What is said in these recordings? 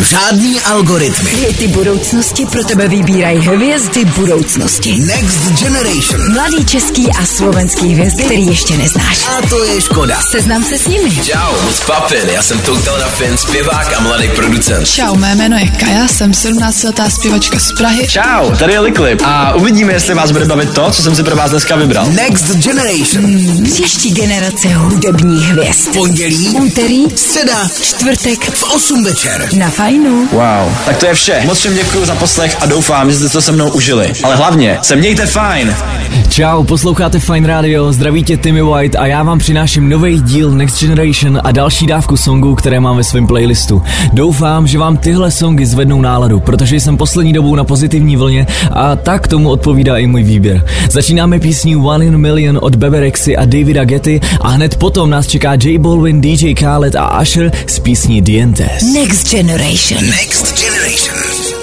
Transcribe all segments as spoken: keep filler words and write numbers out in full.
Žádný algoritmy. Hity budoucnosti pro tebe vybírají hvězdy budoucnosti. Next Generation. Mladý český a slovenský hvězdy, který ještě neznáš. A to je škoda. Seznam se s nimi. Čau, moc papin, já jsem Total na Fin, zpěvák a mladý producent. Čau, mé jméno je Kaja, jsem sedmnáctiletá zpěvačka z Prahy. Čau, tady je Liklip a uvidíme, jestli vás bude bavit to, co jsem si pro vás dneska vybral. Next Generation. Hmm, příští generace hudebních hvězd. Pondělí, úterý, středa, čtvrtek v osm večer. Na Fajnu. Wow, tak to je vše. Moc všem děkuji za poslech a doufám, že jste to se mnou užili. Ale hlavně, se mějte fajn. Čau, posloucháte Fajn Radio, zdraví tě Timmy White a já vám přináším nový díl Next Generation a další dávku songů, které mám ve svém playlistu. Doufám, že vám tyhle songy zvednou náladu, protože jsem poslední dobou na pozitivní vlně a tak tomu odpovídá i můj výběr. Začínáme písní One in a Million od Bebe Rexy a Davida Getty a hned potom nás čeká J Balvin, D J Khaled a Usher z písní Dientes. Next Generation. Next Generation.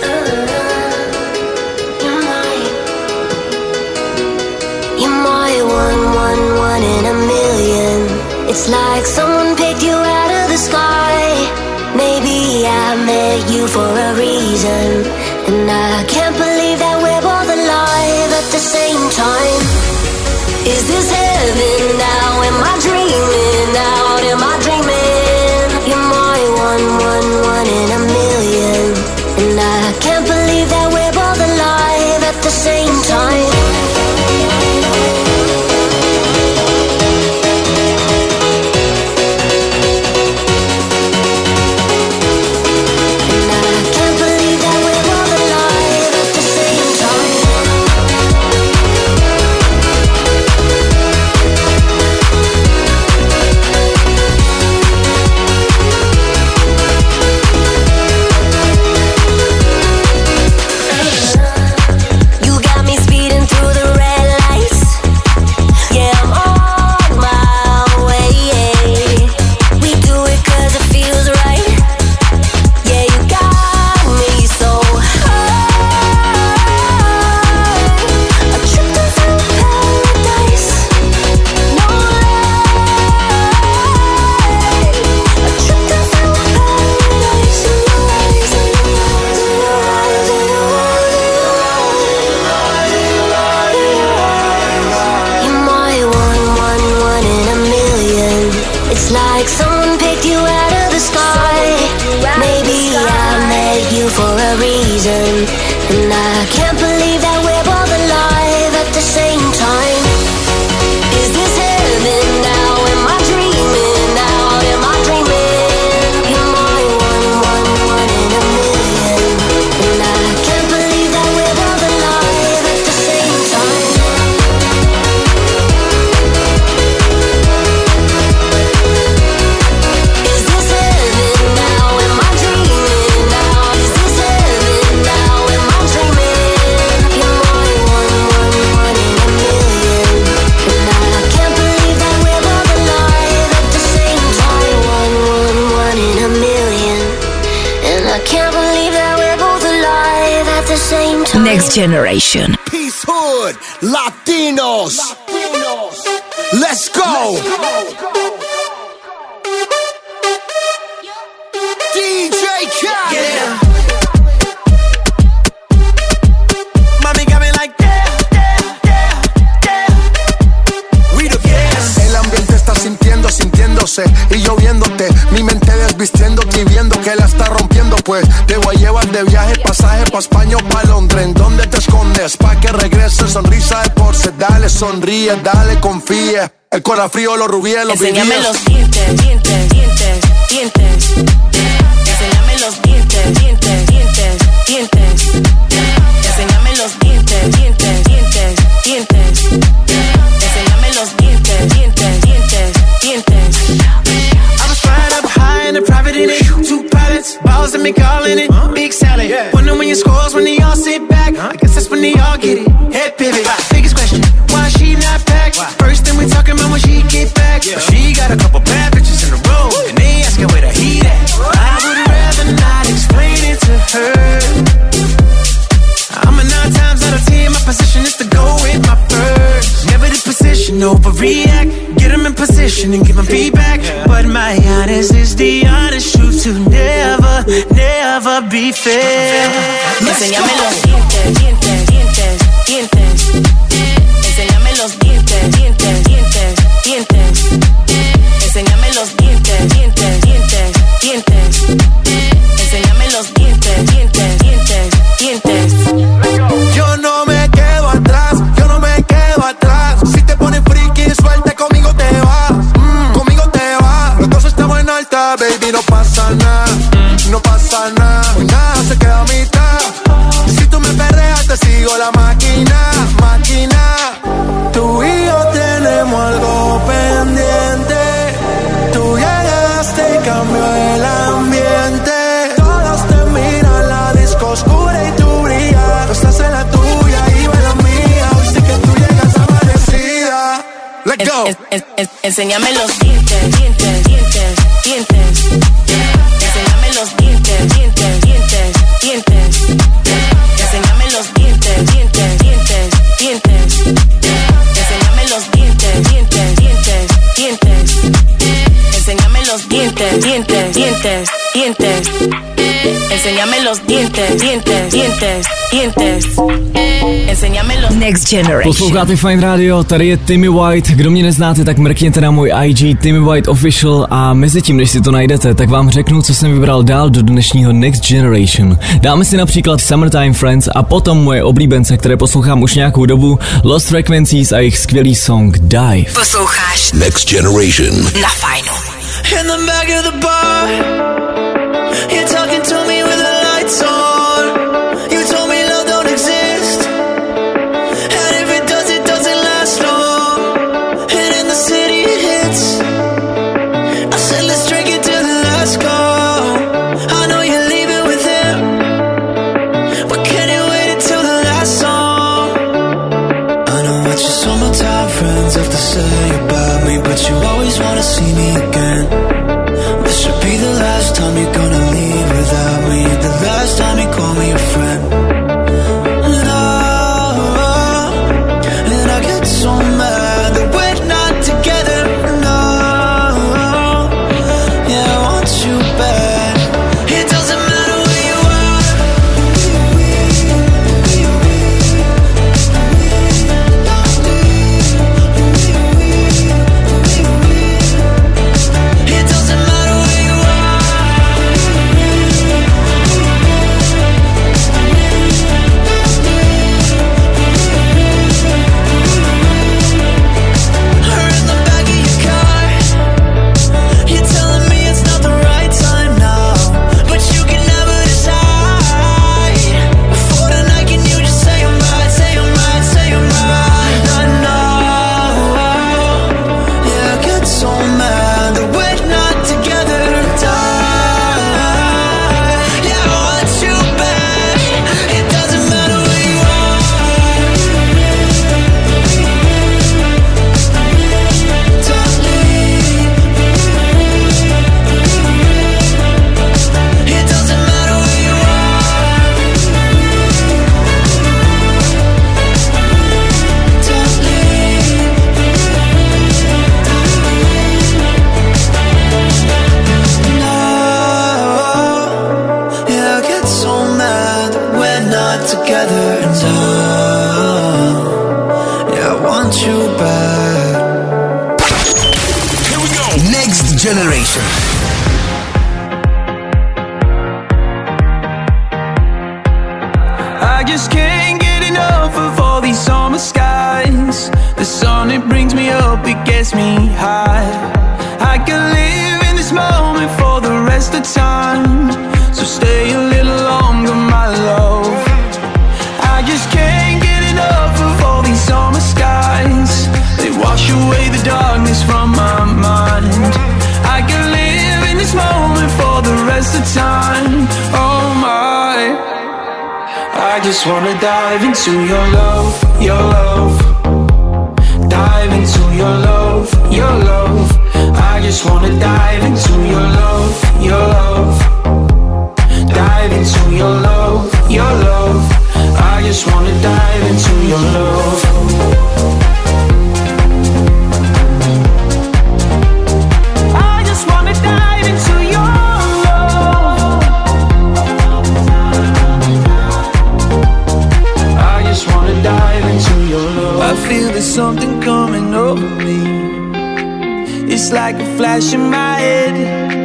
It's like someone picked you out of the sky. Maybe I met you for a reason, and I can't believe that we're both alive at the same time. Is this heaven now? Am I dreaming now? Am I dreaming? You're my one, one, one in a million, and I can't believe that we're both alive at the same time. Next Generation. Peace Hood, Latinos. Latinos. Let's go. D J Khaled. Yeah. Mami got me like yeah, yeah, yeah, yeah. We the best. El ambiente está sintiendo, sintiéndose y lloviéndote. Mi mente desvistiéndote y viendo que la está rompiendo, pues te voy a llevar de viaje, pasaje pa' España o pa' Londres. ¿En dónde te escondes? Pa' que regrese, sonrisa de porce. Dale, sonríe, dale, confía. El corazón frío, los rubíes, los vivíes. Enséñame los dientes, dientes, dientes, dientes. Enséñame los dientes, dientes, dientes, dientes. Enséñame los dientes, dientes, dientes, dientes. Enséñame los dientes, dientes, dientes, dientes. I was flying up high in a private in it. Two pilots, balls and me calling it. Big salad. Wonder when your scores when they all sit back. I guess that's when they all get it. Head pivot. Biggest question, why she not back? First thing we talking about when she get back. But she got a couple bad bitches in a row, and they asking where the heat at. I would rather not explain it to her. I'm a nine times out of ten, my position is to go with my first. Never the position, overreact. get them in position and give them feedback. But my honest is the honest truth to never, never be fair. Enséñame los dientes, dientes, dientes, dientes. Enséñame los dientes, dientes, dientes, dientes. Enséñame los dientes, dientes, dientes, dientes. Enséñame los dientes, dientes, dientes, dientes. Yo no me quedo atrás, yo no me quedo atrás. Si te pones friki, suelta, conmigo te va, mm, conmigo te va. Los dos estamos en alta, baby, no pasa nada, no pasa nada. Hoy nada se queda a mitad. Si tú me perreas, te sigo la máquina, máquina. Tú y yo tenemos algo pendiente. Tú llegaste y cambió el ambiente. Todos te miran, la disco oscura y tú brillas. Tú estás en la tuya y yo en la mía. Hoy sí que tú llegas amanecida. Let's go. En, en, en, enséñame los dientes, dientes, dientes, dientes. Enséñame los dientes, dientes, dientes, dientes. Enséñame los dientes, dientes, dientes, dientes. Enséñame los dientes, dientes, dientes, dientes. Enséñame los dientes, dientes, dientes, dientes. Enséñame los dientes, dientes, dientes, dientes. Enséñame los Next Generation. Posloucháte Fine Radio, tady je Timmy White. Kdo mě neznáte, tak mrkněte na můj I G Timmy White Official a mezi tím, než si to najdete, tak vám řeknu, co jsem vybral dál do dnešního Next Generation. Dáme si například Summertime Friends a potom moje oblíbence, které poslouchám už nějakou dobu, Lost Frequencies a jejich skvělý song Dive. Posloucháš Next Generation na Fajnu. In the back of the bar, you're talking to me with the lights on. You told me love don't exist, and if it does, it doesn't last long. And in the city it hits. I said let's drink it till the last call. I know you're leaving with him, but can you wait until the last song? I know what your summertime friends have to say about me, but you always wanna see me again. This should be the last time you're gonna leave without me, the last time you call me a friend. And I, and I get so mad that we're not together. No, yeah, I want you back. It doesn't matter where you are. It doesn't matter where you are. Or in the back of your car, you're telling me it's not the right time now, but you can never decide. Before tonight, can you just say I'm right, say I'm right, say I'm right? I know, yeah, I get so mad that we're not together. Die, yeah, I want you back. It doesn't matter where you are. Don't leave. It doesn't matter where you are. Don't leave. No, yeah, I get so mad that we're not together. And I, yeah, I want you back. Next Generation. I just can't get enough of all these summer skies. The sun, it brings me up, it gets me high. I can live in this moment for the rest of time. So stay a little longer, my love. I just can't get enough of all these summer skies. They wash away the darkness from my mind. I can live in this moment for the rest of time. Oh my, I just wanna dive into your love, your love. Dive into your love, your love. I just wanna dive into your love, your love. Dive into your love, your love. I just wanna dive into your love. something coming over me. It's like a flash in my head.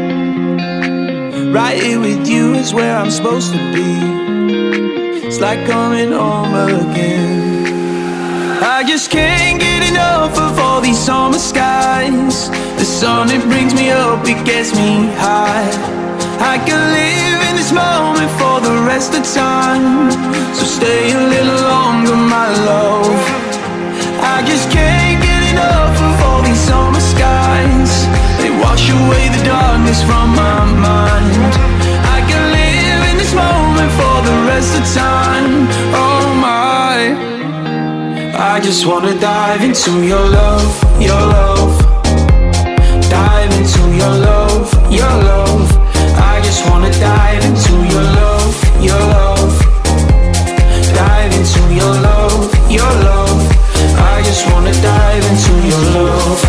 Right here with you is where I'm supposed to be. It's like coming home again. I just can't get enough of all these summer skies. The sun, it brings me up, it gets me high. I can live in this moment for the rest of time. So stay a little longer, my love. I just can't get enough of all these summer skies. They wash away the darkness from my mind. I can live in this moment for the rest of time. Oh my, I just wanna dive into your love, your love. Dive into your love, your love. I just wanna dive into your love, your love. Dive into your love, your love. I just wanna dive into your love.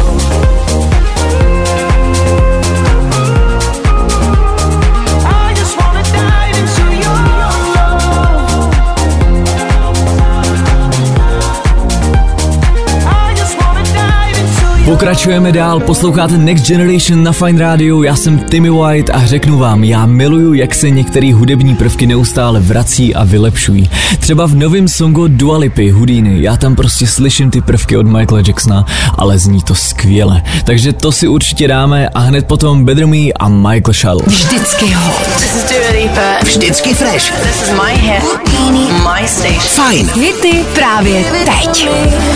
I just wanna dive into your love. I just wanna dive into your. Pokračujeme dál, posloucháte Next Generation na Fine Radio, já jsem Timmy White a řeknu vám, já miluju, jak se některé hudební prvky neustále vrací a vylepšují. Třeba v novém songu Dua Lipy, Houdini, já tam prostě slyším ty prvky od Michaela Jacksona, ale zní to skvěle. Takže to si určitě dáme a hned potom Better Me a Michael Shallow. Vždycky hot. This is Dua Lipa. Vždycky fresh. This is my hit. My station. Fajn. Hity právě teď.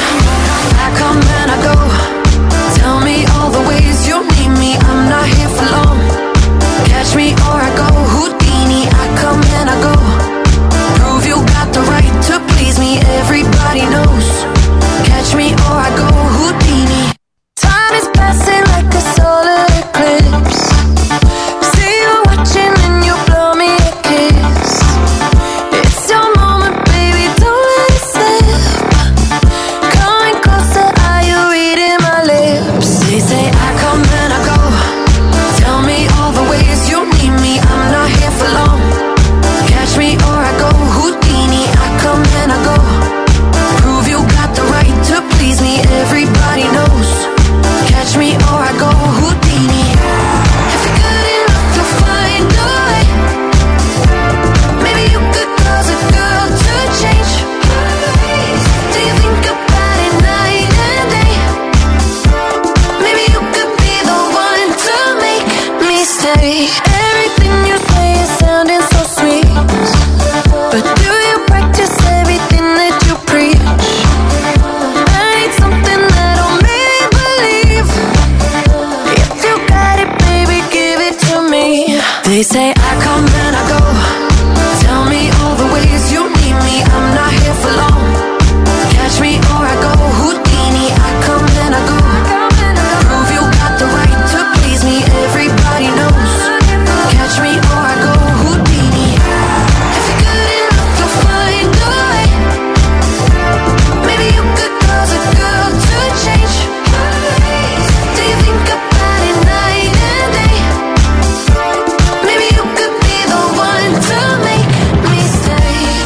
Tell me all the ways you need me. I'm not here for long. Catch me or I go Houdini. I come and I go. Prove you got the right to please me. Everybody knows. Catch me or I go Houdini. Time is passing like a solar eclipse. See you watching and you blow me a kiss. It's your moment, baby, don't let it slip. Coming closer, are you reading my lips? They say I come and I go. Tell me all the ways you need me. I'm not here for long. Catch me or I go Houdini. I come and I go. Prove you got the right to please me. Everybody knows. Catch me or I go Houdini. If you're good enough to find a way, maybe you could cause a girl to change. Do you think about it night and day? Maybe you could be the one to make me stay. Everything you say is sounding so sweet, but do you practice everything that you preach? I need something that'll make me believe. If you got it, baby, give it to me. They say I come and I go. Tell me all the ways you need me. I'm not here for long. Catch me or I go Houdini. I come and I go. Prove you got the right to please me. Everybody knows. Catch me or I go Houdini. If you're good enough to find a way, maybe you could cause a girl to change. Do you think about it night and day? Maybe you could be the one to make me stay.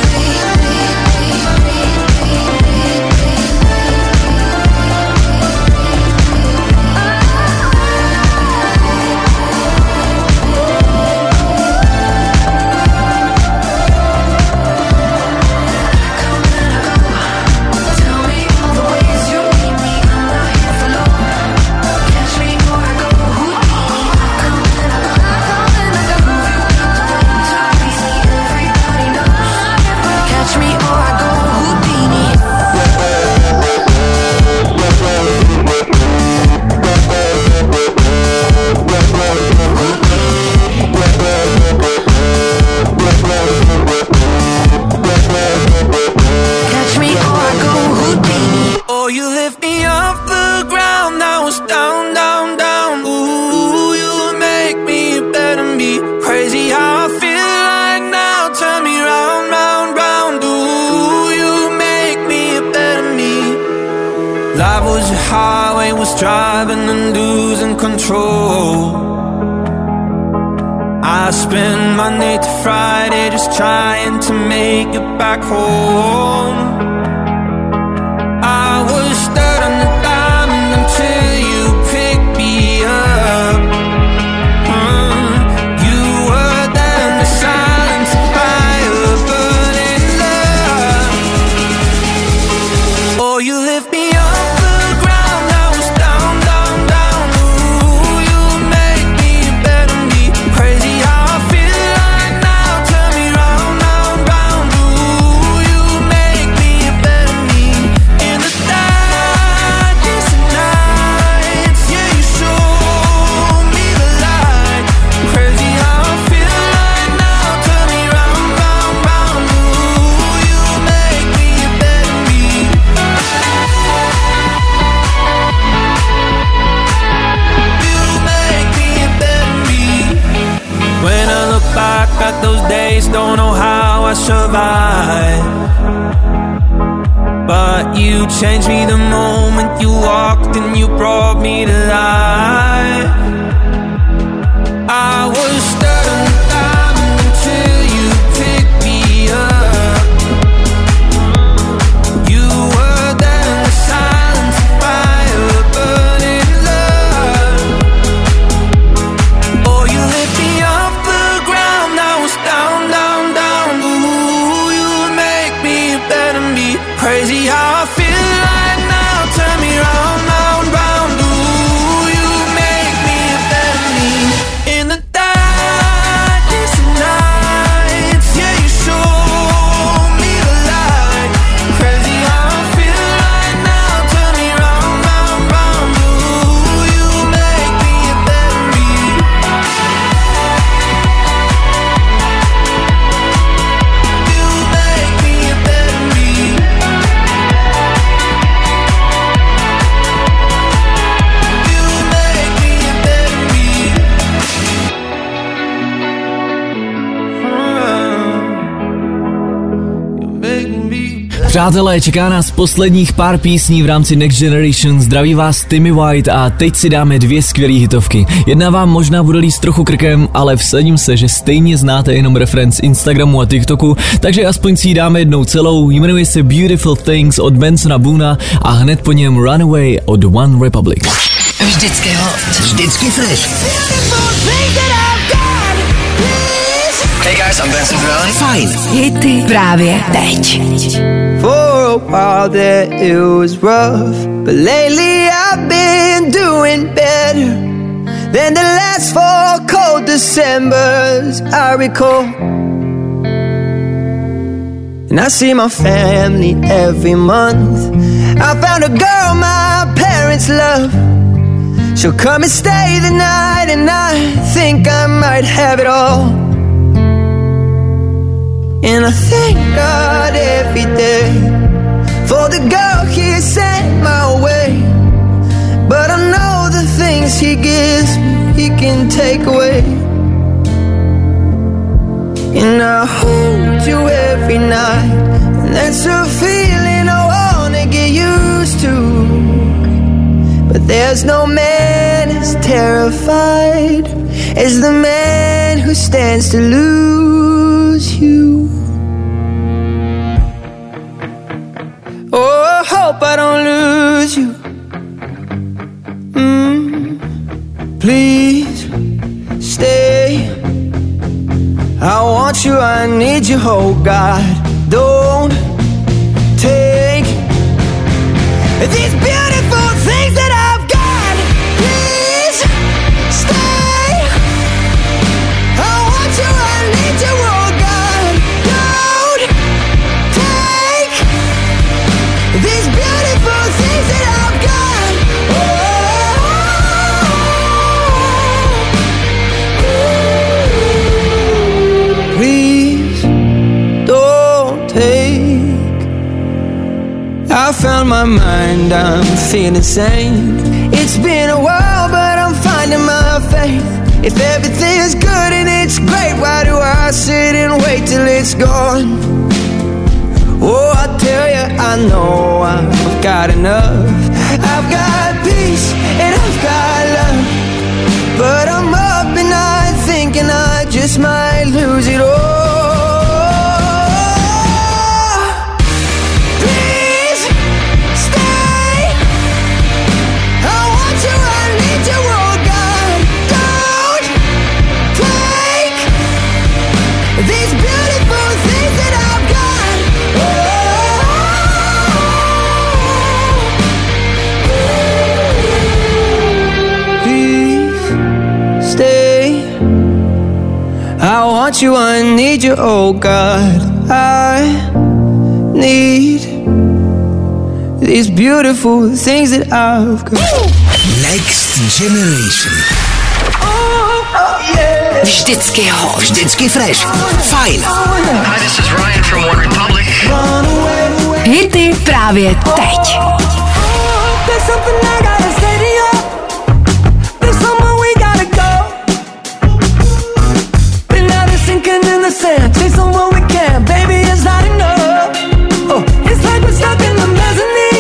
Tell me all the ways you need me. I'm not here for long. Catch me or I go Houdini. I come and I go. Prove you got the right to please me. Everybody knows. Catch me or I go Houdini. Catch me or I go Houdini. Oh, you lift me off the ground. I was down, down, down. Ooh, you make me better me. Crazy how I feel like now. Turn me round, round, round. Ooh, you make me better me. Life was a highway, was driving and losing control. I spend Monday to Friday just trying to make it back home. I was stuck You changed me the moment you walked and you brought me to life. I was stuck down until you picked me up. You were there in the silence of fire, burning love. Oh, you lift me off the ground, I was down, down, down. Ooh, you make me better me. Crazy how I feel right now, turn me round, round, round. Ooh, you make me a better me. In the darkness of nights, yeah, you show me the light. Crazy how I feel right now, turn me round, round, round. Ooh, you make me a better me. You make me a better me. Přátelé, čeká nás posledních pár písní v rámci Next Generation. Zdraví vás Timmy White a teď si dáme dvě skvělé hitovky. Jedna vám možná bude líst trochu krkem, ale vsadím se, že stejně znáte jenom referenc Instagramu a TikToku, takže aspoň si ji dáme jednou celou. Jmenuje se Beautiful Things od Bensona Boona a hned po něm Runaway od One Republic. Vždycky hot. Vždycky fresh. Hey guys, I'm Benson Brown. Fajn. Hity právě teď. For a while there it was rough, but lately I've been doing better than the last four cold Decembers I recall. And I see my family every month. I found a girl my parents love. She'll come and stay the night, and I think I might have it all. And I thank God every day for the girl He sent my way. But I know the things He gives me, He can take away. And I hold you every night, and that's a feeling I wanna get used to. But there's no man as terrified as the man who stands to lose you. Oh, I hope I don't lose you. Mm, please stay. I want you, I need you, oh God. Don't take these beautiful things that I've got. Please stay. I want you, I need you, oh God. Don't take these beautiful things that I've got. Oh, please don't take. I found my mind, I'm feeling sane. It's been a while, but I'm finding my faith. If everything's good and it's great, why do I sit and wait till it's gone? Oh, I tell you, I know I've got enough. I've got peace and I've got love, but I'm up and I thinking I just might lose it all. I want you, I need you, oh God. I need these beautiful things that I've got. Next Generation. Oh, oh yeah. Vždycky hot. Vždycky fresh. Fajn. Hi, this is Ryan from One Republic. Hity právě teď. Say somewhere we can, baby, it's not enough. Oh, it's like we're stuck in the mezzanine.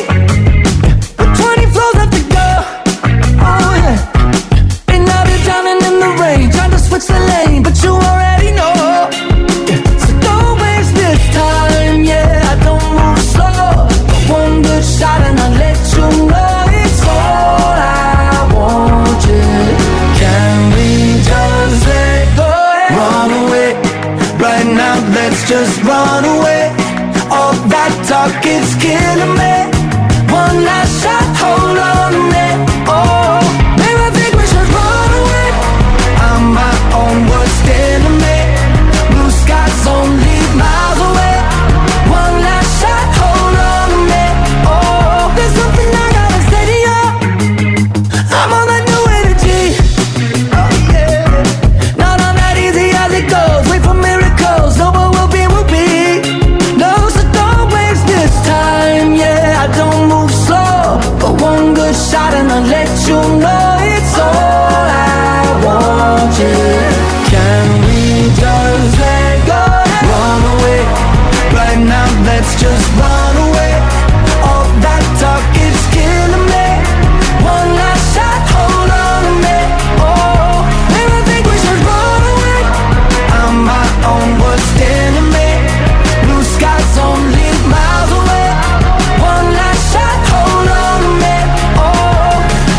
just run away. All that talk is killing me. One last shot, hold on a minute. Oh, maybe I think we should run away. I'm my own worst enemy. Blue skies only miles away. One last shot, hold on a minute. Oh, there's something I gotta say to you. I'm on that new energy. Oh yeah, not on that easy as it goes. Wait for miracles, no what will be, will be. No, so don't waste this time. Yeah, I don't move slow, but one good shot and I'll let you know it's all I want. Yeah, can we just let go? Run away right now. Let's just run away. All that talk is killing me. One last shot, hold on a minute. Oh, maybe I think we should run away. I'm my own worst enemy. Blue skies only miles away. One last shot, hold on a minute. Oh,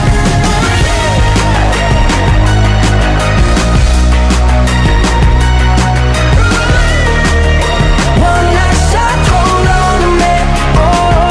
one last shot, hold on a minute. Oh,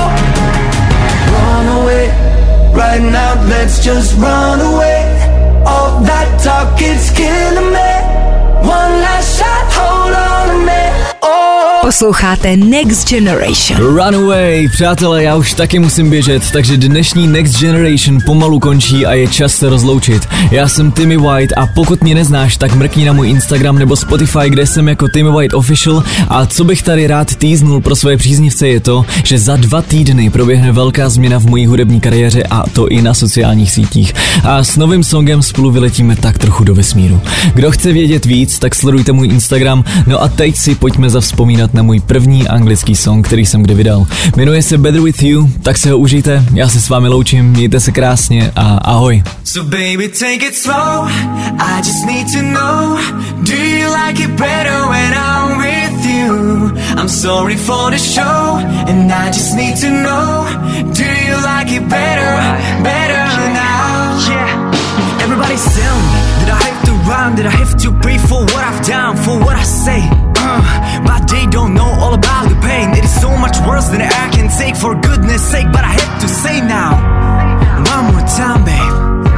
run away right now. Let's just run away. All that talk is killing me. One last shot, hold on a minute. Oh. Posloucháte Next Generation. Runaway, přátelé, já už taky musím běžet, takže dnešní Next Generation pomalu končí a je čas se rozloučit. Já jsem Timmy White a pokud mě neznáš, tak mrkni na můj Instagram nebo Spotify, kde jsem jako Timmy White Official, a co bych tady rád týznul pro své příznivce je to, že za dva týdny proběhne velká změna v mojí hudební kariéře a to i na sociálních sítích. A s novým songem spolu vyletíme tak trochu do vesmíru. Kdo chce vědět víc, tak sledujte můj Instagram, no a teď si pojďme zavzpomínat na můj první anglický song, který jsem kdy vydal. Jmenuje se Better With You, tak se ho užijte, já se s vámi loučím, mějte se krásně a ahoj. So baby, take it slow, I just need to know, do you like it better when I'm with you? I'm sorry for the show, and I just need to know, do you like it better, better now? Yeah. Everybody's telling me that I have to run, that I have to pay for what I've done, for what I say. Uh, but they don't know all about the pain. It is so much worse than I can take, for goodness sake. But I have to say now, one more time, babe,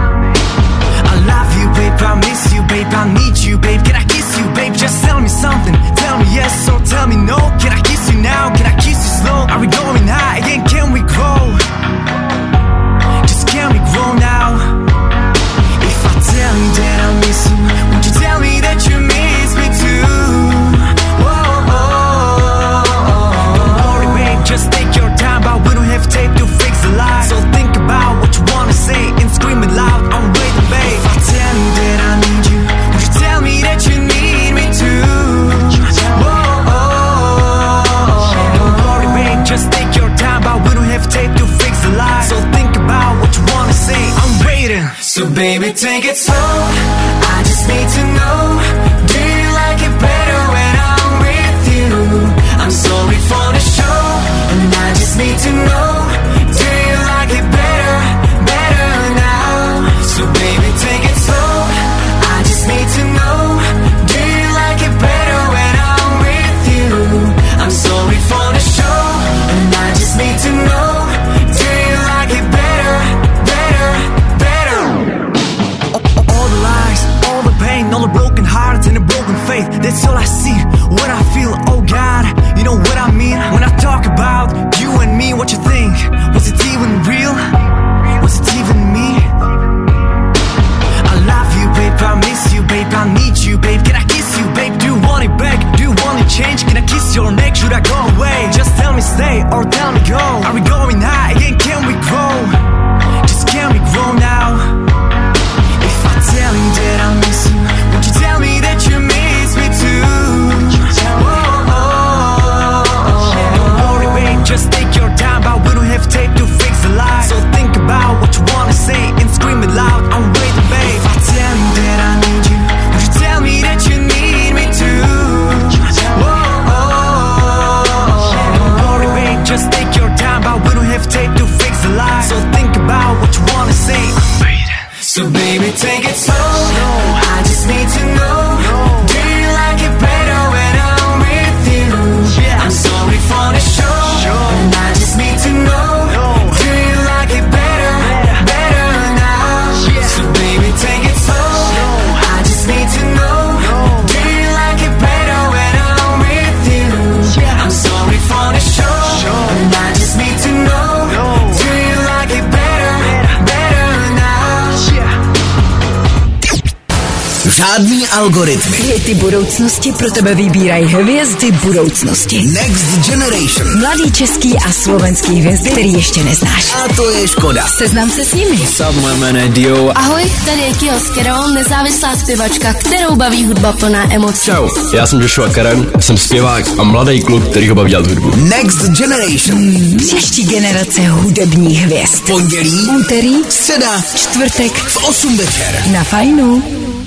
I love you, babe, I miss you, babe, I need you, babe. Can I kiss you, babe? Just tell me something. Tell me yes or tell me no. Can I kiss you now? Can I kiss you slow? Are we going high again? Can we grow? Just can we grow now? If I tell you that I miss you, would you tell me that you miss me too? Oh, oh, oh, don't worry, babe, just take your time, but we don't have tape to fix the lie. So think about what you wanna say and scream it loud. I'm waiting, babe. If I tell you that I need you, would you tell me that you need me too? Oh, oh, oh, don't worry, babe, just take your time, but we don't have tape to fix the lie. So think about what you wanna say. I'm waiting. So baby, take it slow, I just need to know, do you like it better when I'm with you? I'm sorry for the show, and I just need to know, do you like it better, better now? So baby, take it slow, I just need to know, do you like it better when I'm with you? I'm sorry for the show, and I just need to know, do you like it better, better, better? All the lies, all the pain, all the broken hearts and a broken faith, that's all I see, what I feel, oh God, you know what I mean? When I talk about you and me, what you think? Was it even real? Was it even me? I love you, babe, I miss you, babe, I need you, babe. Can I kiss you, babe? Do you want it back? Do you want it change? Can I kiss your neck? Should I go away? Just tell me stay or tell me go. Are we going high again? Can we grow? Just can we grow now? If I tell you that I miss you, would you tell me that you miss me too? Oh, oh, oh, don't worry, babe, just take your time, but we don't have tape to fix the lie. So think about what you wanna say and scream it loud. I'm waiting, babe. If I tell you that I need you, would you tell me that you need me too? Oh, oh, oh, don't worry, babe, just take your time, but we don't have tape to fix the lie. So think about what you wanna say. I'm waiting. So baby, take it slow, I just need to know, do you like it better when I'm with you? žádný algoritmy. Hity budoucnosti pro tebe vybírají hvězdy budoucnosti. Next Generation. Mladý český a slovenský hvězdy, který ještě neznáš. A to je škoda. Seznam se s nimi. Sup, moje jméno je Dio. Ahoj, tady je Kio Skero, nezávislá zpěvačka, kterou baví hudba plná emocí. Čau, já jsem Joshua Karen, jsem zpěvák a mladý kluk, který ho baví dělat hudbu. Next Generation. Hmm, příští generace hudebních hvězd. Pondělí, úterý, středa, čtvrtek v osm večer. Na Fajnu.